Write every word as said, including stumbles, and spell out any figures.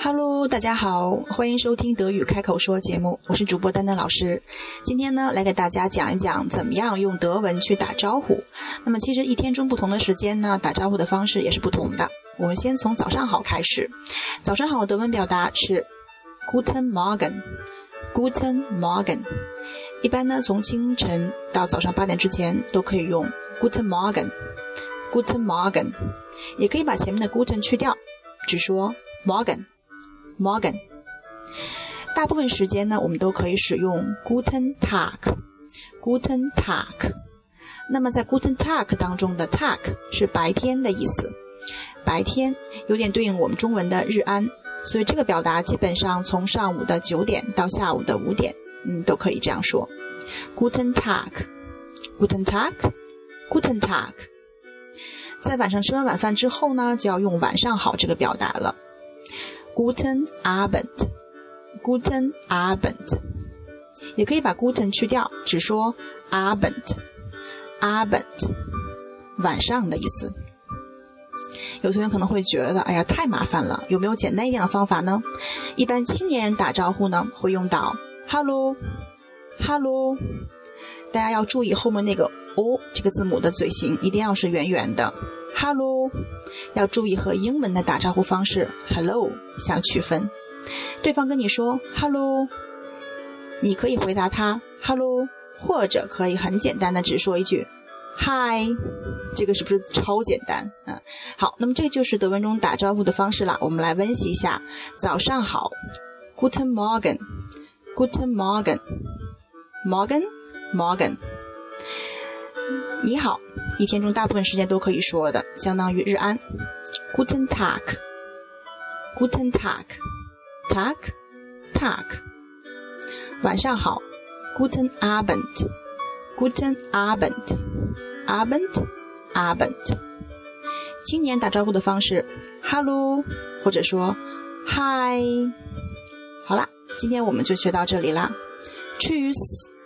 Hello， 大家好，欢迎收听德语开口说节目，我是主播丹丹老师。今天呢，来给大家讲一讲怎么样用德文去打招呼。那么其实一天中不同的时间呢，打招呼的方式也是不同的。我们先从早上好开始。早上好的德文表达是 Guten Morgen Guten Morgen。 一般呢，从清晨到早上八点之前都可以用 Guten Morgen Guten Morgen， 也可以把前面的 Guten 去掉，只说 Morgen Morgen。 大部分时间呢，我们都可以使用 Guten Tag Guten Tag。 那么在 Guten Tag 当中的 Tag 是白天的意思，白天有点对应我们中文的日安，所以这个表达基本上从上午的九点到下午的五点，嗯，都可以这样说 Guten Tag Guten Tag Guten Tag。 在晚上吃完晚饭之后呢，就要用晚上好这个表达了Guten Abend Guten Abend， 也可以把 Guten 去掉，只说 Abend Abend， 晚上的意思。有同学可能会觉得哎呀太麻烦了，有没有简单一点的方法呢？一般青年人打招呼呢，会用到 Hello Hello， 大家要注意后面那个 O 这个字母的嘴型一定要是圆圆的， Hello， 要注意和英文的打招呼方式 Hello 相区分。对方跟你说 Hello， 你可以回答他 Hello， 或者可以很简单的只说一句 Hi， 这个是不是超简单？嗯，好，那么这就是德文中打招呼的方式了。我们来温习一下。早上好 Guten Morgen Guten Morgen Morgen Morgen。 你好，一天中大部分时间都可以说的，相当于日安 Guten Tag Guten Tag Tag Tag。 晚上好 Guten Abend Guten Abend Abend Abend。 青年打招呼的方式 Hello， 或者说 Hi。 好啦，今天我们就学到这里啦， Tschüss。